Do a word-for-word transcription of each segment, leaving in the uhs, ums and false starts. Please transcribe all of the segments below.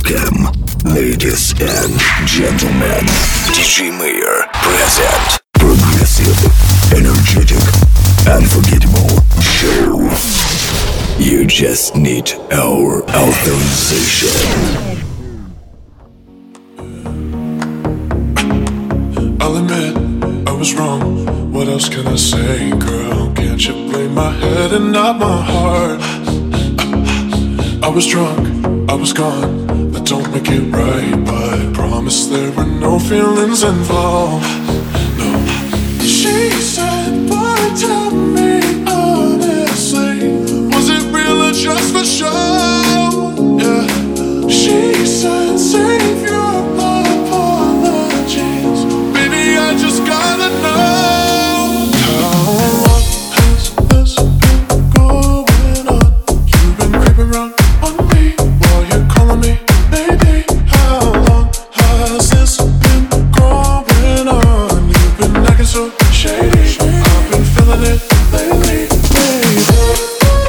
Welcome, ladies and gentlemen. ди джей Mayor present progressive, energetic, unforgettable show. You just need our authorization. I'll admit I was wrong. What else can I say, girl? Can't you blame my head and not my heart? I was drunk, I was gone. That don't make it right, but I promise there were no feelings involved. No. She said, boy, tell me honestly, was it real or just for show? Yeah. She said, save your apologies. Baby, I just gotta know. How long has this been going on? You've been creeping around on me while you're calling me baby. How long has this been going on? You've been acting so shady. I've been feeling it lately, baby.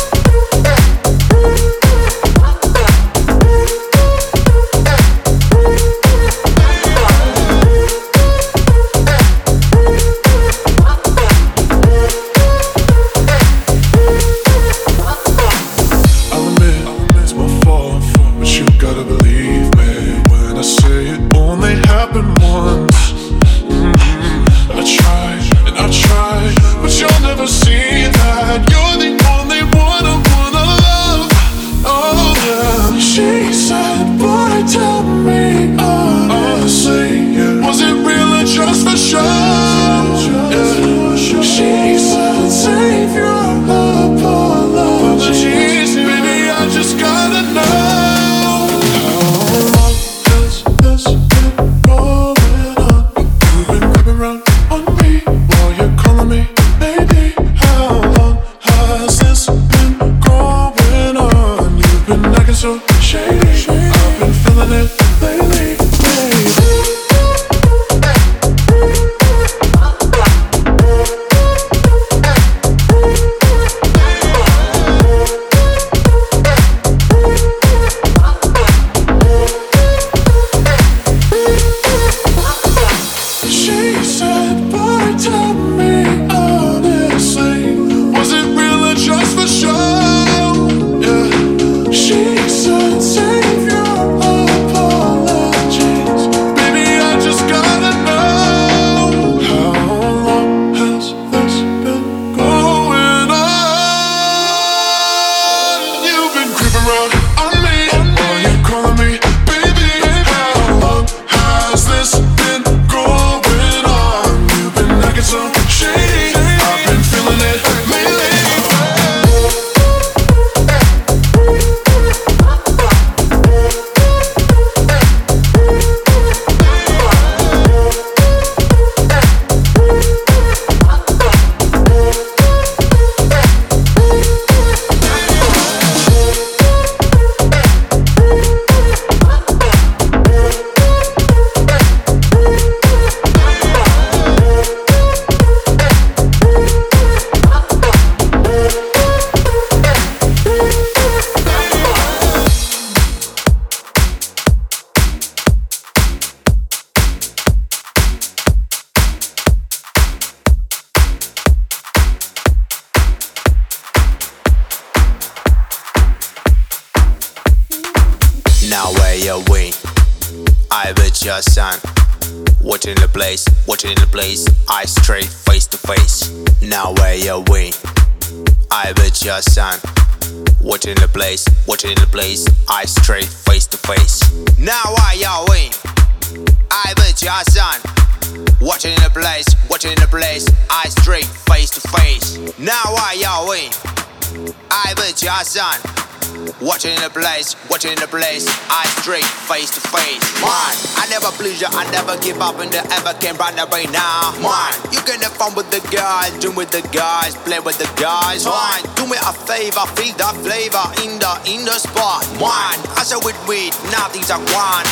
Watching the place, watching the place, eyes straight, face to face. Man, I never please you, I never give up and I ever can run away now. Man, you can have fun with the guys, drink with the guys, play with the guys. Man, do me a favor, feel the flavor in the in the spot. Man, I said with weed, nothing's a one.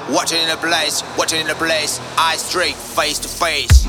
Watching the place, watching the place, eyes straight, face to face.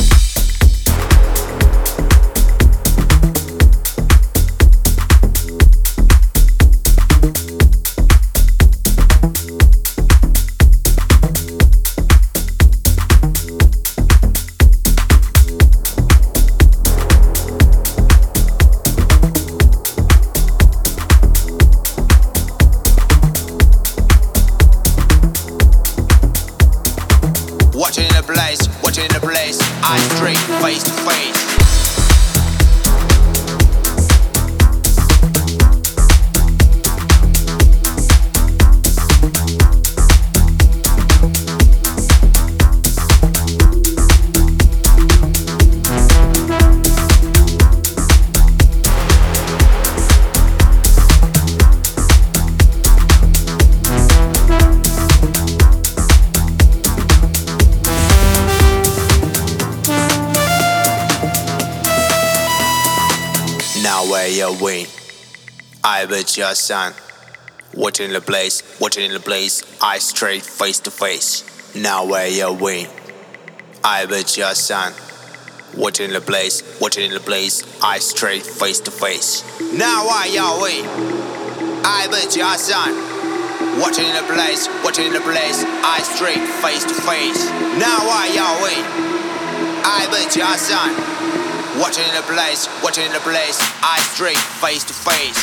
Watching the place, watching the place, eyes straight, face to face. Now where you win, I bet your son. Watching the place, watching the place, eyes straight, face to face. Now where you win, I bet your son. Watching the place, watching the place, eyes straight, face to face. Now where you win, I bet your son. Watching the place, watching the place, eyes straight, face to face. Now where you win, I bet your son. Watching the place, watching the place, eyes straight, face to face.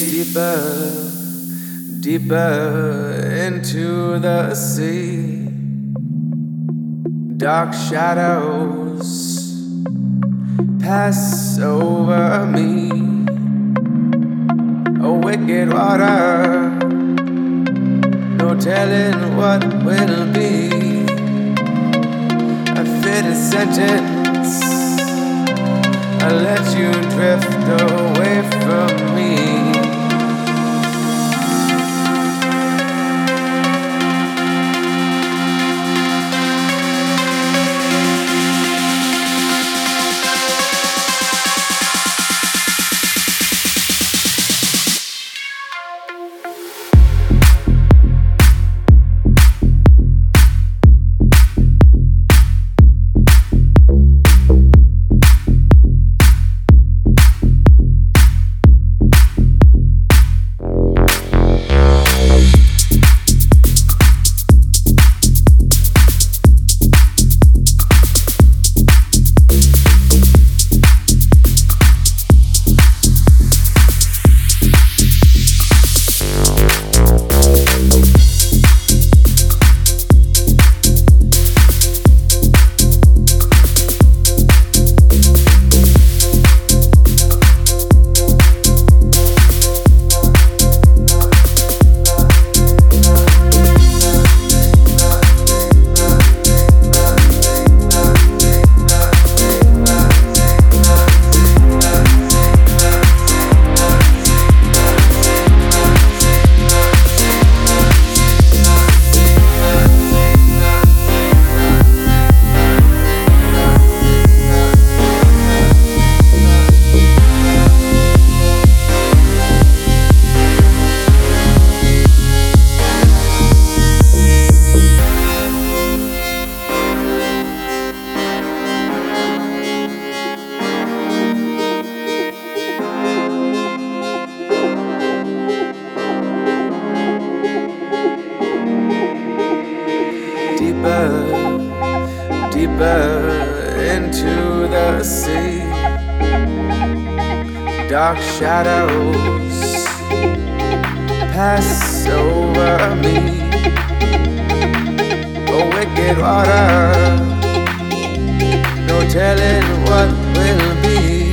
deeper, deeper into the sea. Dark shadows pass over me. A wicked water, no telling what will be. A fitting sentence, I let you drift away from me. Dark shadows pass over me. A wicked water, no telling what will be.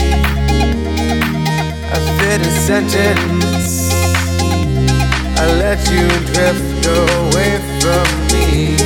A fitting sentence, I let you drift away from me.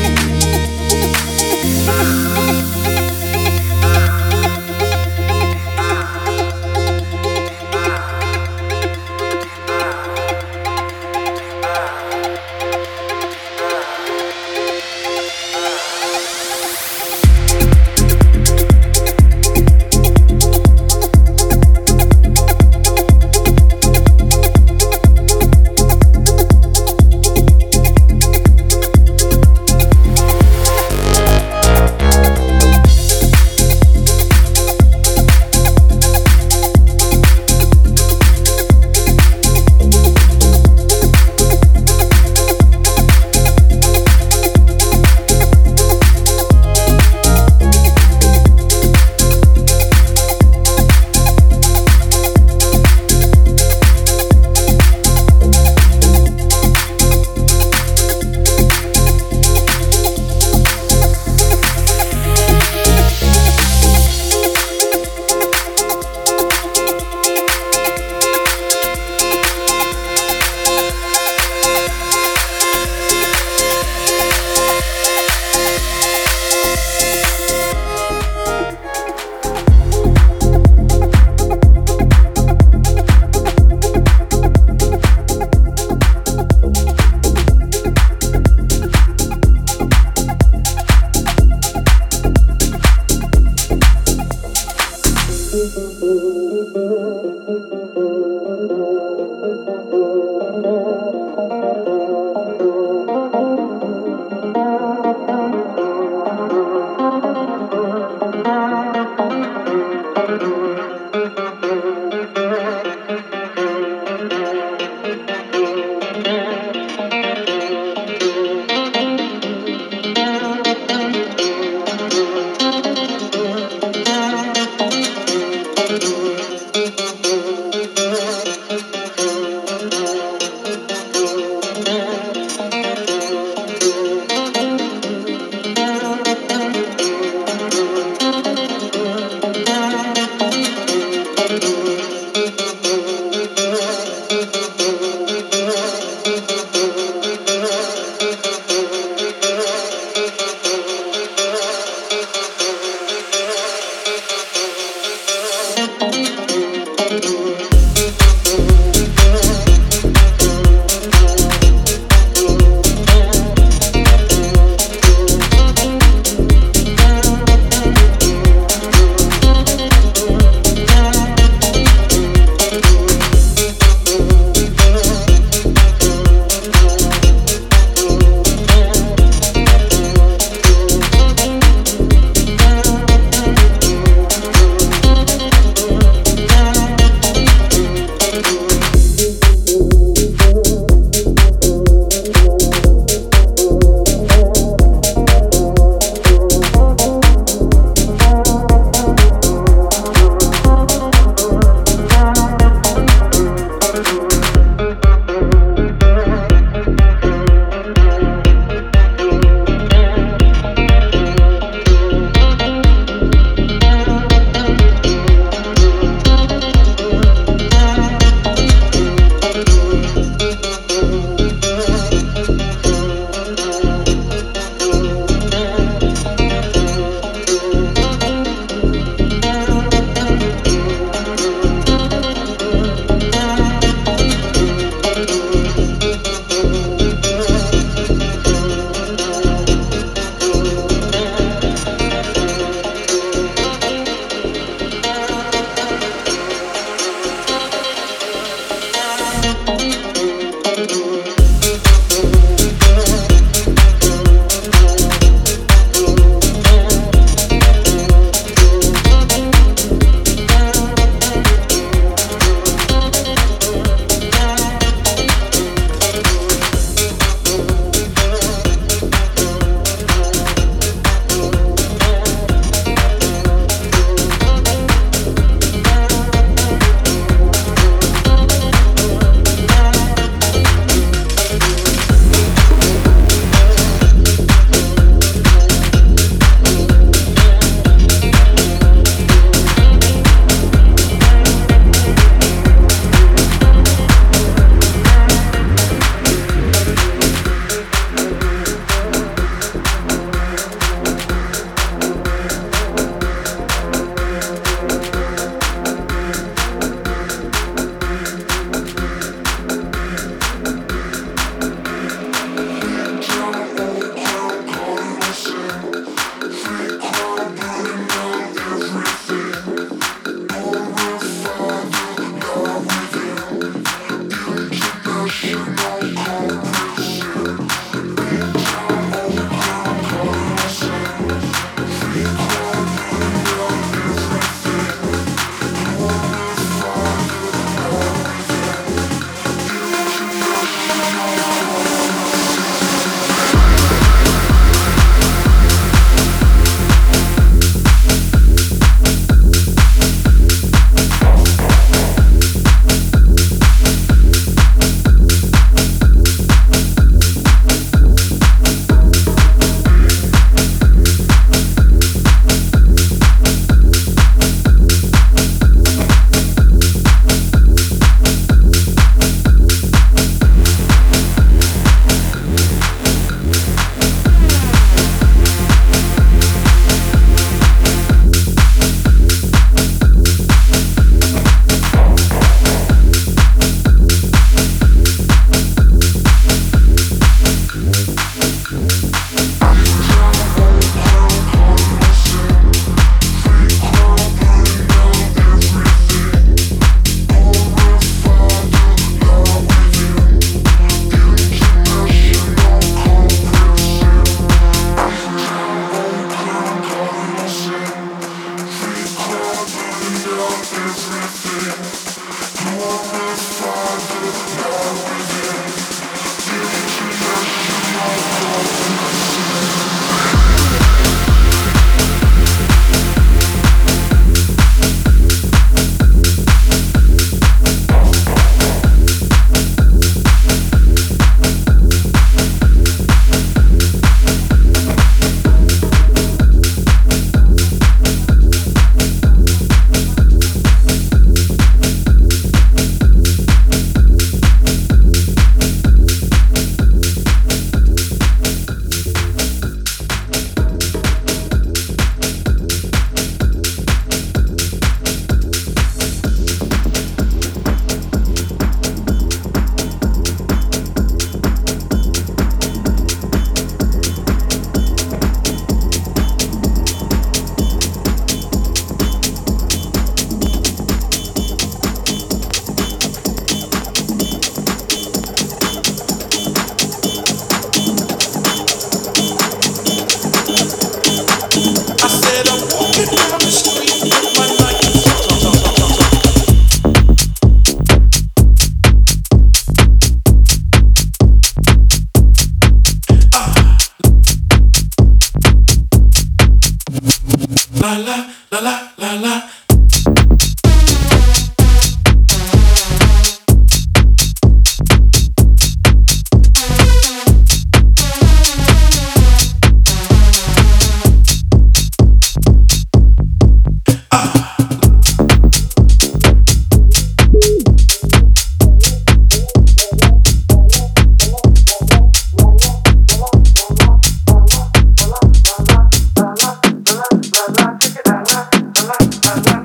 la la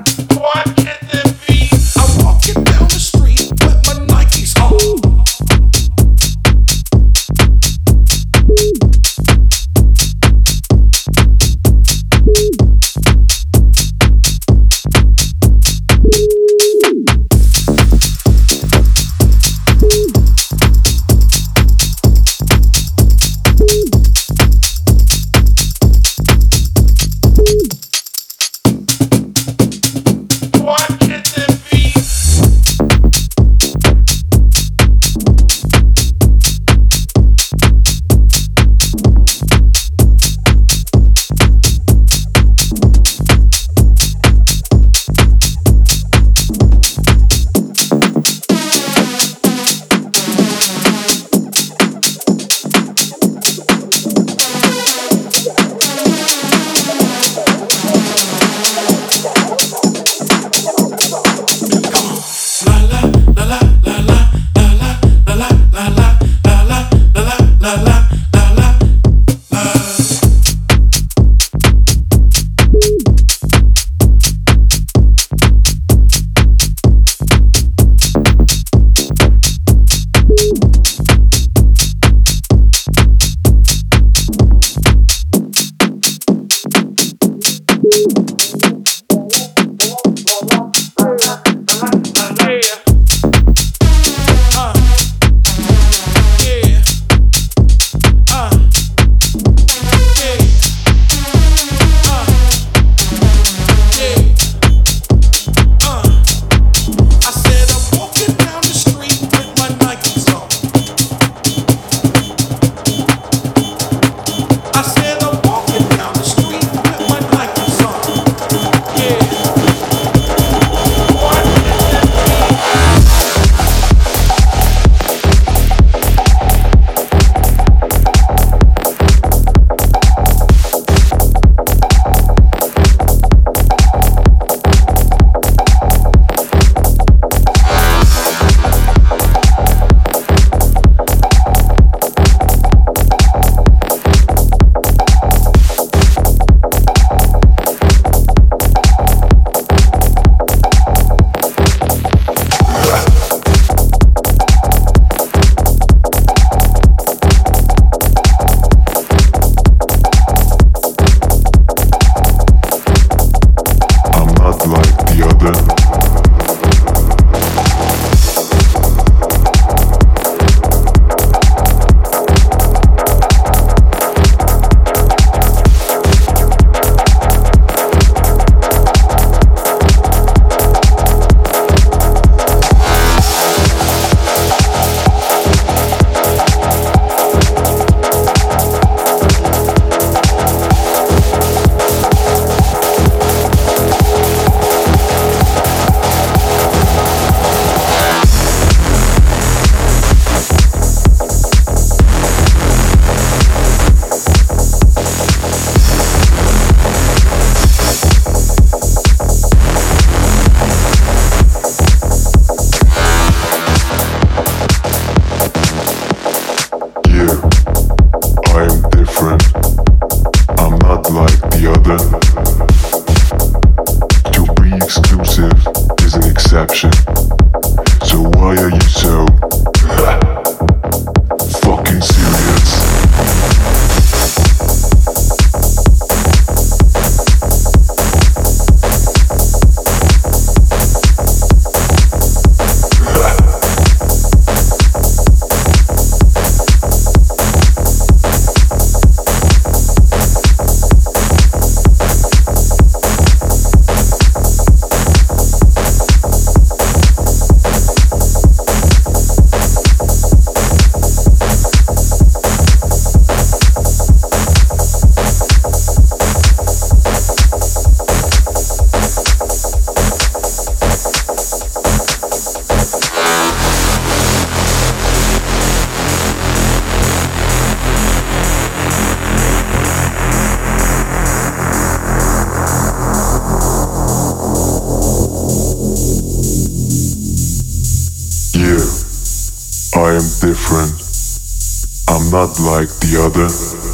I am different. I'm not like the other.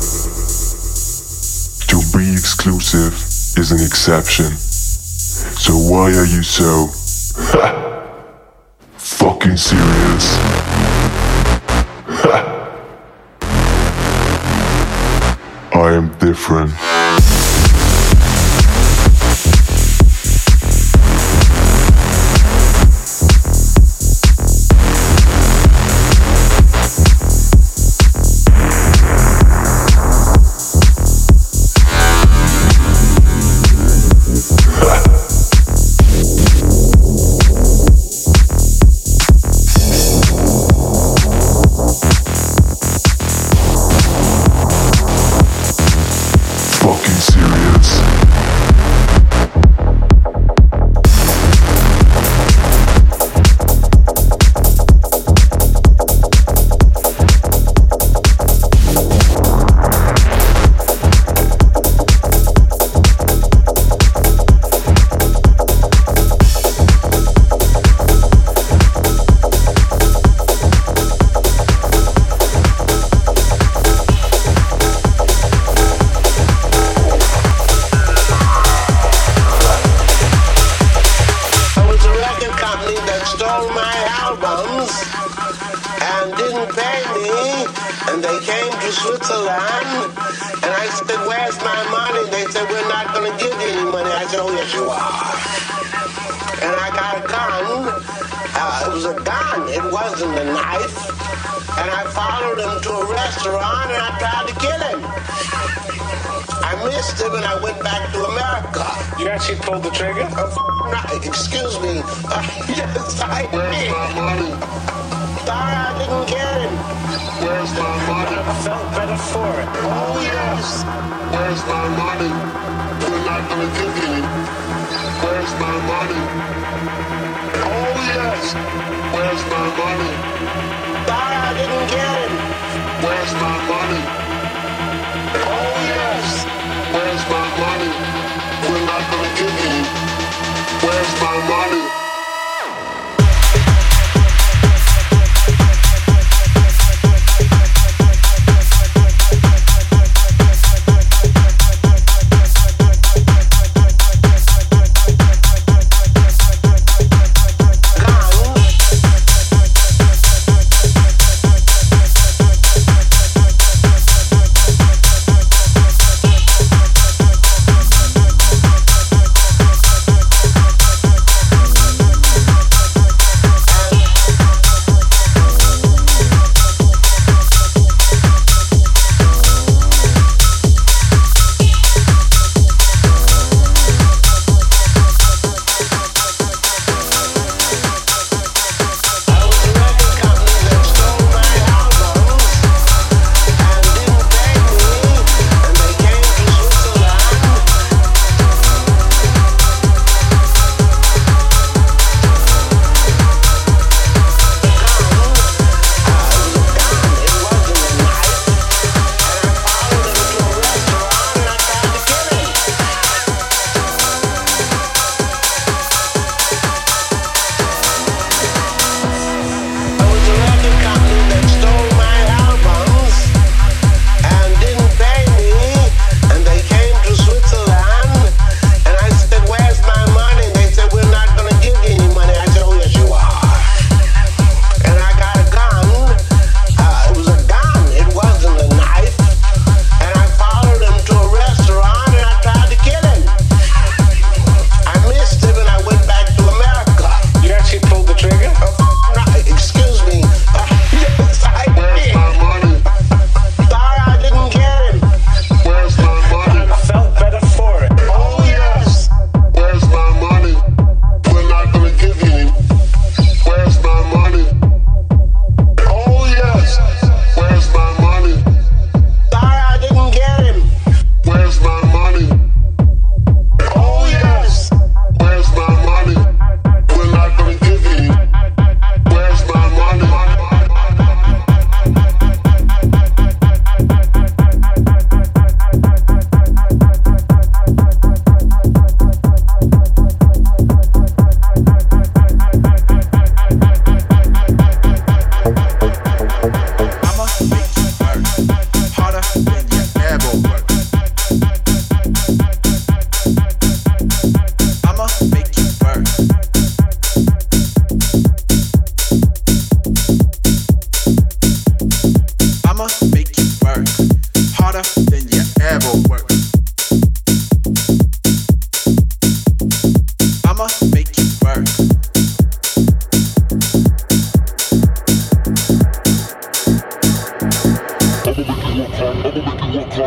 To be exclusive is an exception. So why are you so fucking serious? I am different.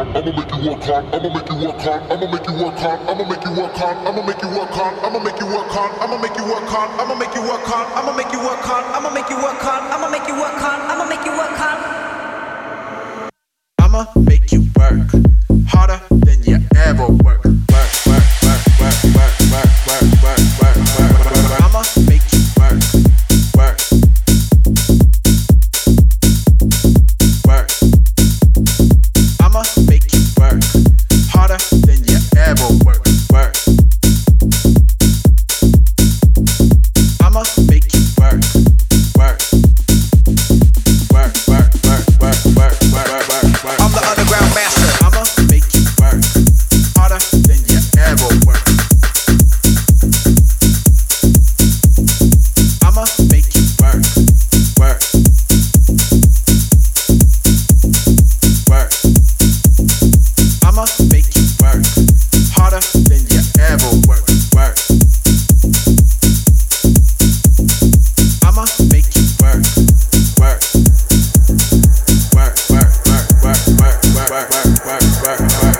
hard, I'ma make you work hard, I'ma make you work hard, I'ma make you work hard, I'ma make you work hard, I'ma make you work hard, I'ma make you work hard, I'ma make you work hard, I'ma make you work hard, I'ma make you work hard, I'ma make you work hard, I'ma make you work hard, I'ma make you work hard. I'ma make you work harder than you ever work. Work, work, work, work, work, work, work, work, work, work, work. I'ma make you work, work, work. I'ma make you work harder than you ever work. Work. I'ma make you work, work, work, work, work, work, work, work, work, work. I'm the underground master. I'ma make you work harder than you ever work. I'ma make you work, work, work. I'ma make you work harder than you ever work. Work. I'ma make you work, work, work, work, work, work, work, work, work, work, work, work, work.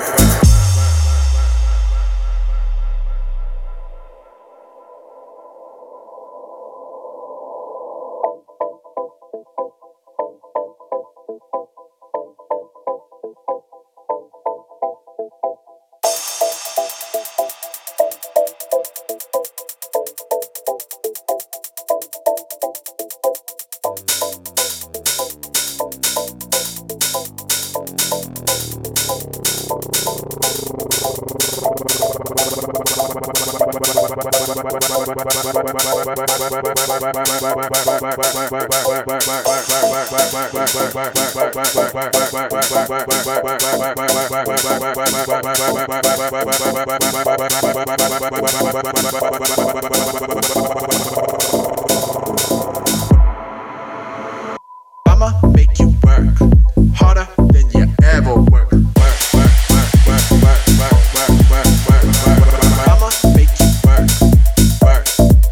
I'ma make you work harder than you ever work. Work, work, work, work, work, work, work, work, work, work, work. I'ma make you work, work,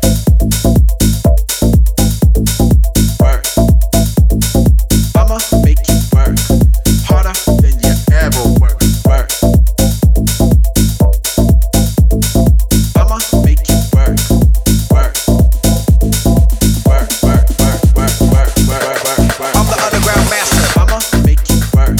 work. I'ma make you work harder than you ever work. Work. I'ma make you work, work, work, work, work, work, work, work, work, work. I'm the underground master. I'ma make you work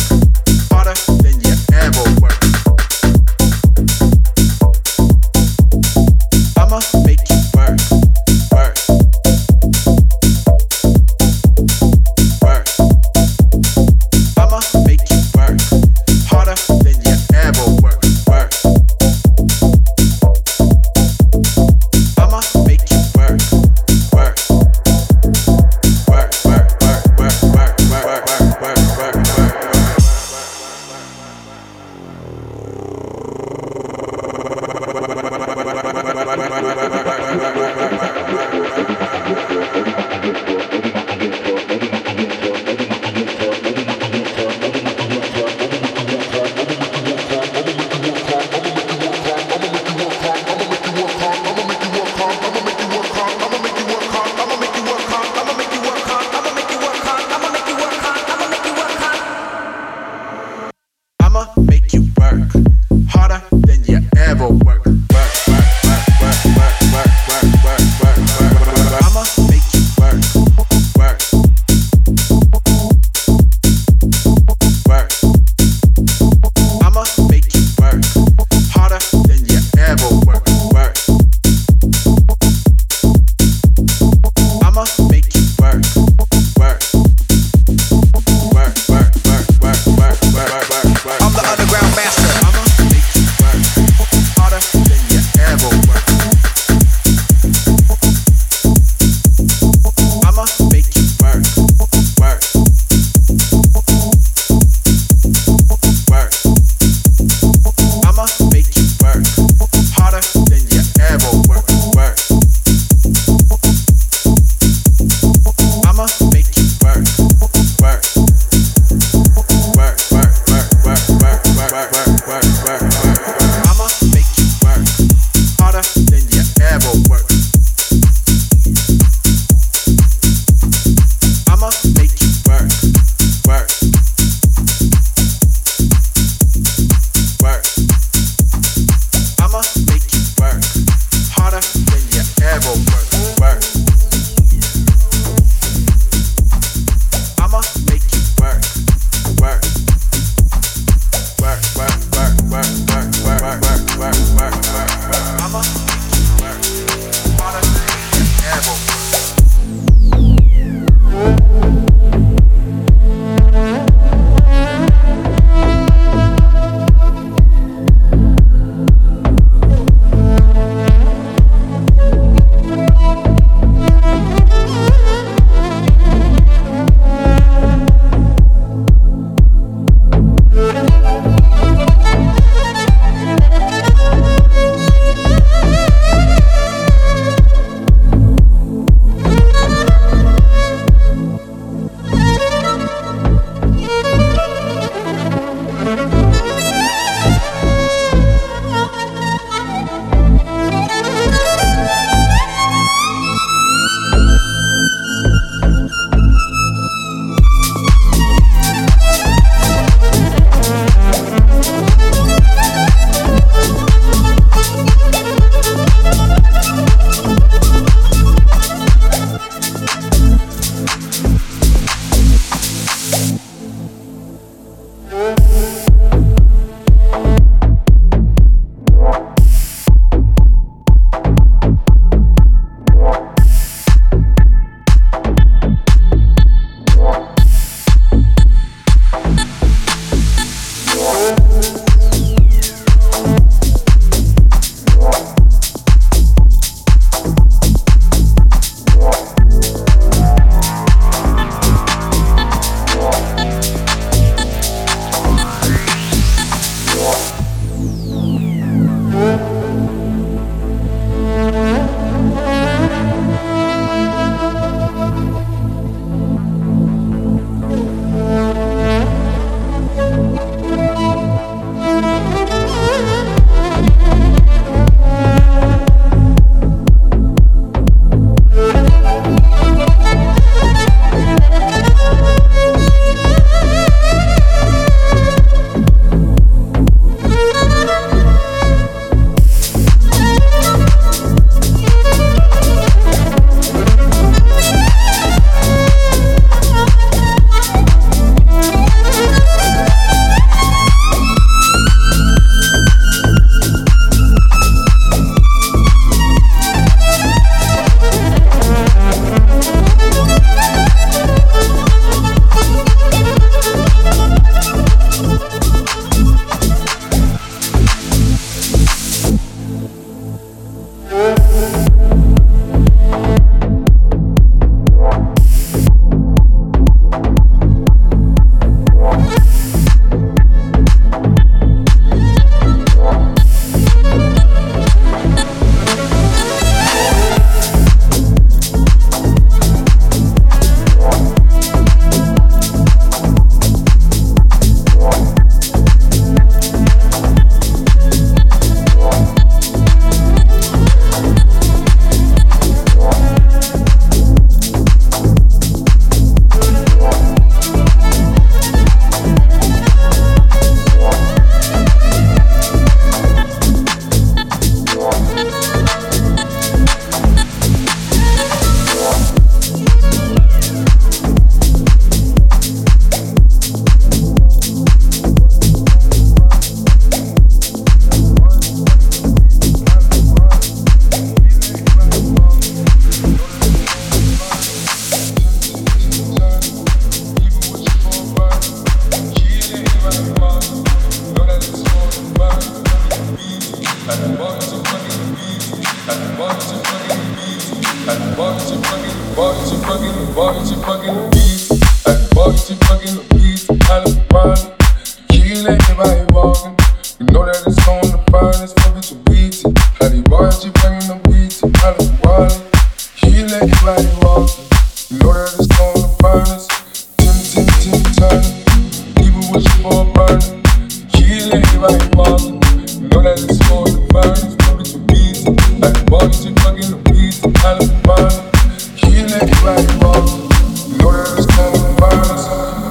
she fucking the beat, I love the body. She let everybody walking. You know that it's on the finest, fuck it to beat it. How the boys, she bringing the beat, I love the body. She let everybody walking. You know that it's on the finest. Tim, tim, tim, tim. People wishing for a burner. She let everybody walking. You know that it's on the finest, fuck it to beat it. How the boys, she fucking the beat, I love the body. She let everybody walking. You know that it's on the finest.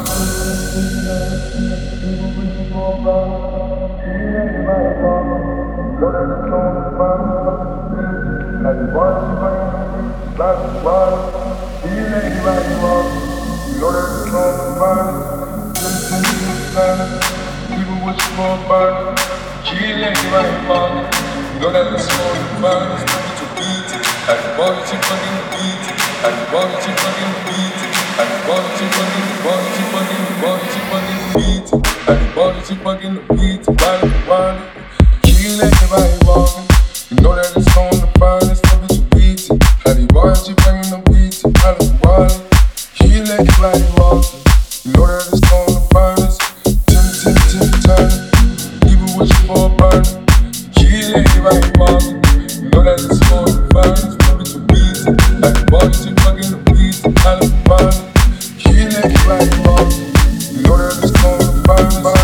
She fucking the beat, body for body. She let everybody walking. You know that it's on the finest, fuck it to beat it. How the boys, she bringing the beat, body for body. She let everybody walking. You know that it's on the finest. Tim, tim, tim, tim. People wishing for a burner. She let everybody walking. You know that it's on the finest, fuck it to beat it. How the boys, she fucking the beat, body for body. She let everybody walking. You know that it's on the finest.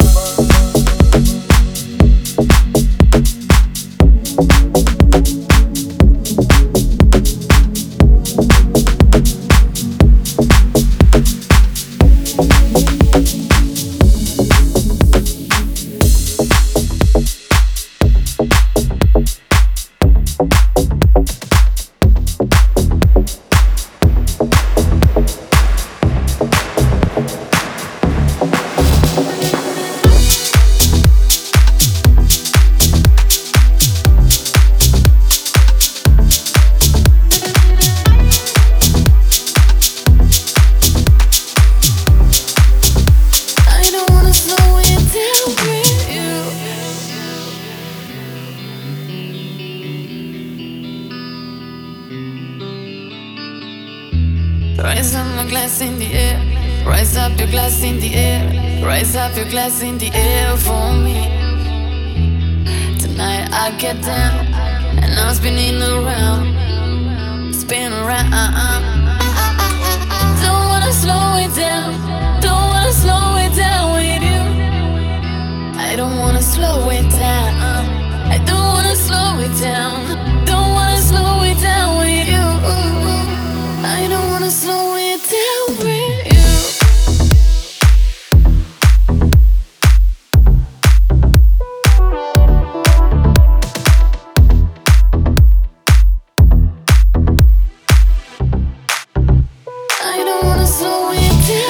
Raise up my glass in the air. Rise up your glass in the air. Rise up your glass in the air for me. Tonight I get down and I'm spinning around, spin around. Don't wanna slow it down. Don't wanna slow it down with you. I don't wanna slow it down. I don't wanna slow it down. Don't wanna slow it down with you. I don't wanna slow it down with you. I don't wanna slow it down.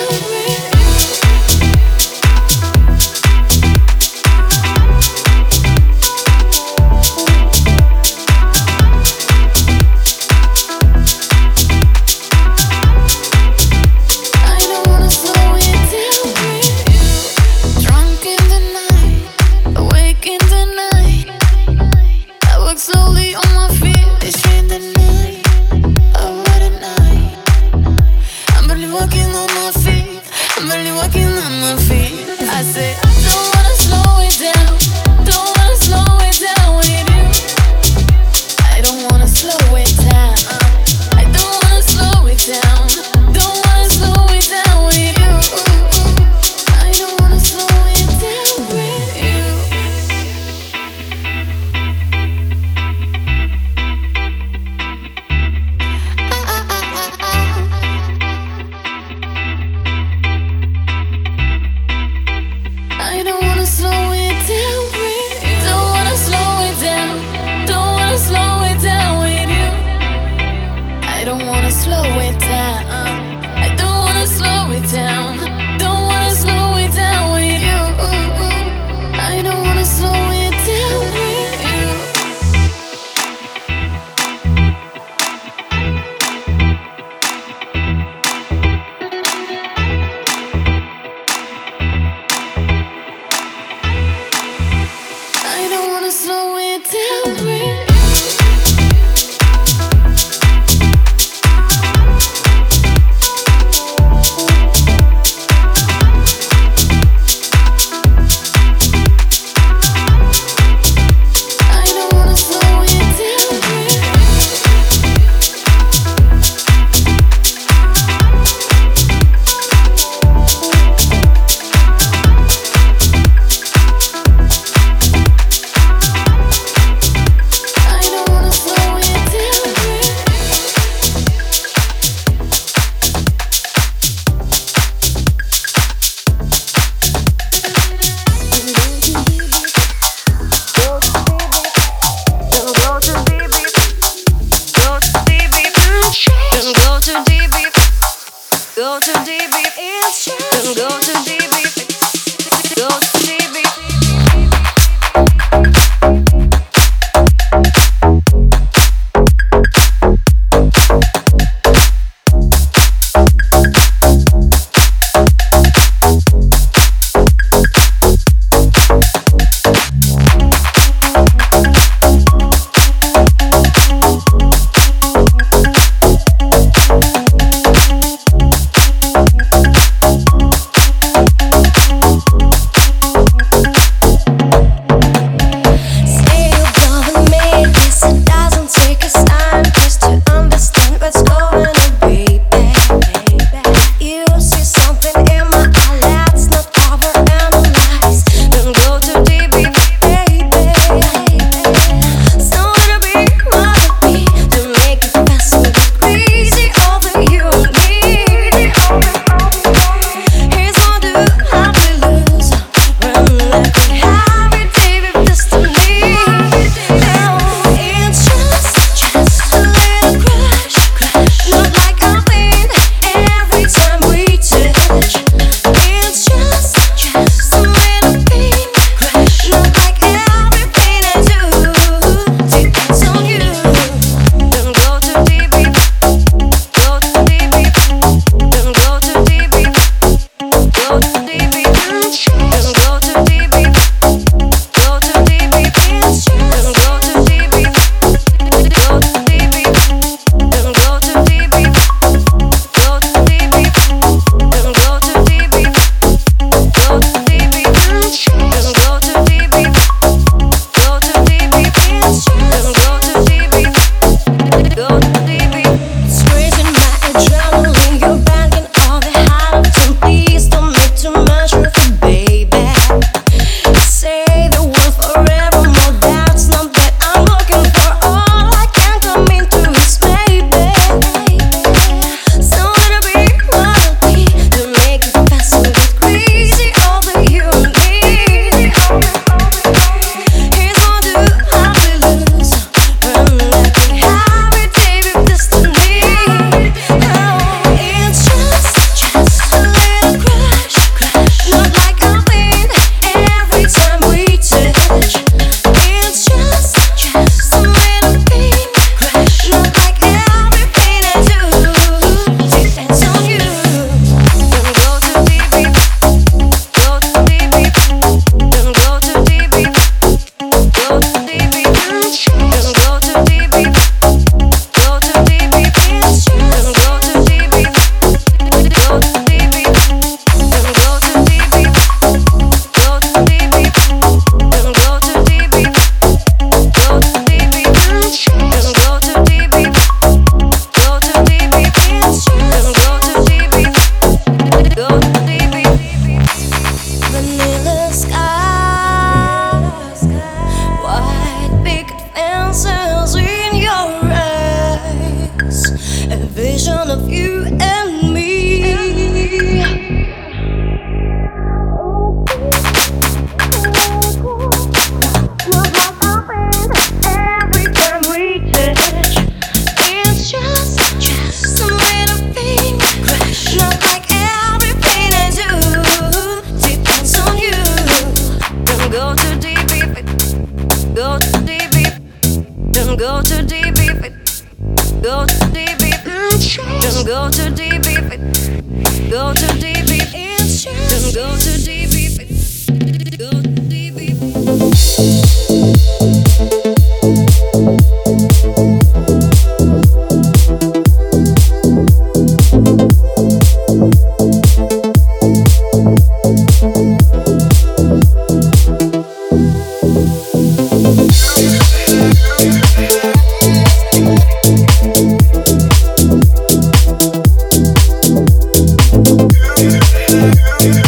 Yeah.